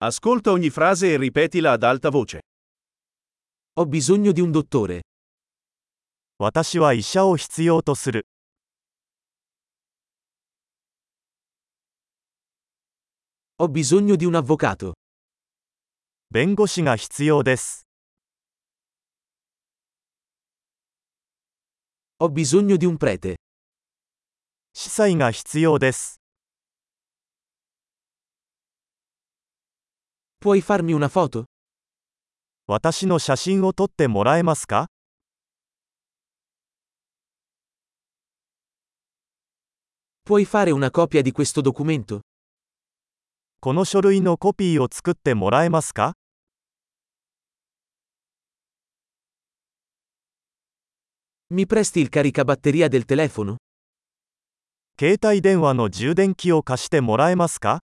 Ascolta ogni frase e ripetila ad alta voce. Ho bisogno di un dottore. 私は医者を必要とする。 Ho bisogno di un avvocato. 弁護士が必要です。 Ho bisogno di un prete. 司祭が必要です。 Puoi farmi una foto? 私の写真を撮ってもらえますか？ Puoi fare una copia di questo documento? この書類のコピーを作ってもらえますか？ Mi presti il caricabatteria del telefono? 携帯電話の充電器を貸してもらえますか？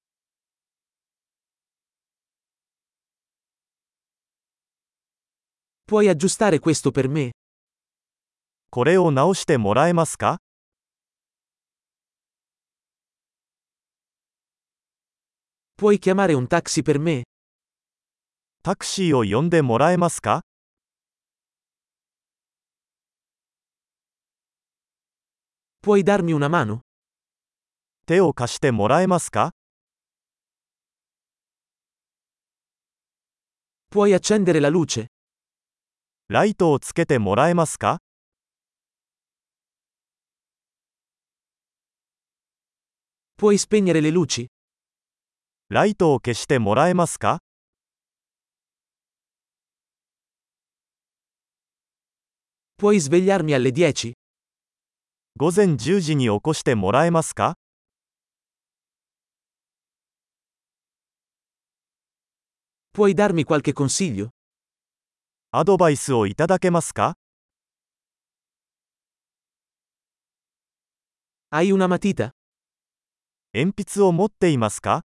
Puoi aggiustare questo per me? これを直してもらえますか？ Puoi chiamare un taxi per me? タクシーを呼んでもらえますか？ Puoi darmi una mano? 手を貸してもらえますか？ Puoi accendere la luce? ライトをつけてもらえますか？ Puoi spegnere le luci? ライトを消してもらえますか？ Puoi svegliarmi alle 10? 午前10時に起こしてもらえますか？ Puoi darmi qualche consiglio? アドバイスをいただけますか？ Hai una matita? 鉛筆を持っていますか？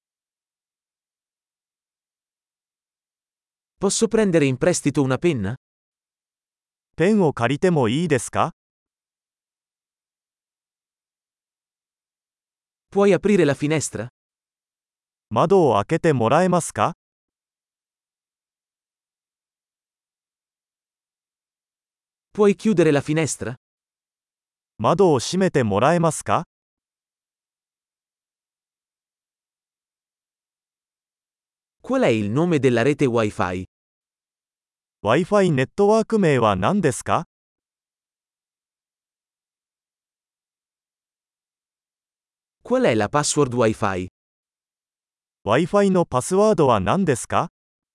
Posso prendere in prestito una penna? ペンを借りてもいいですか？ Puoi aprire la finestra? 窓を開けてもらえますか？ Puoi chiudere la finestra? 窓を閉めてもらえますか？ Qual è il nome della rete Wi-Fi? Wi-Fi ネットワーク名は何ですか？ Qual è la password Wi-Fi? Wi-Fi のパスワードは何ですか？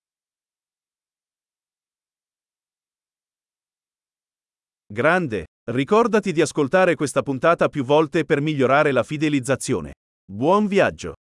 Grande! Ricordati di ascoltare questa puntata più volte per migliorare la fidelizzazione. Buon viaggio!